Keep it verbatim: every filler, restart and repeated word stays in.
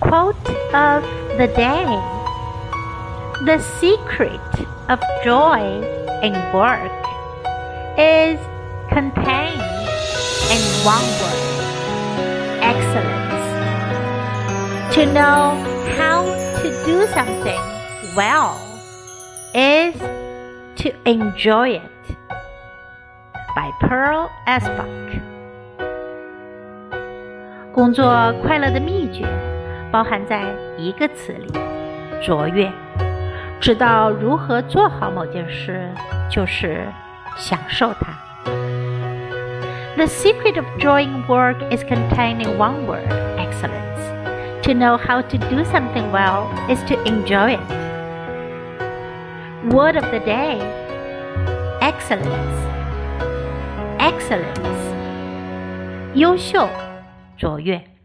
Quote of the day. The secret of joy in work is contained in one word, excellence. To know how to do something well is to enjoy it. By Pearl Esbach。 工作快乐的秘诀包含在一个词里，卓越。知道如何做好某件事，就是享受它。The secret of joy in work is contained in one word, excellence. To know how to do something well is to enjoy it. Word of the day, excellence. Excellence. 优秀，卓越。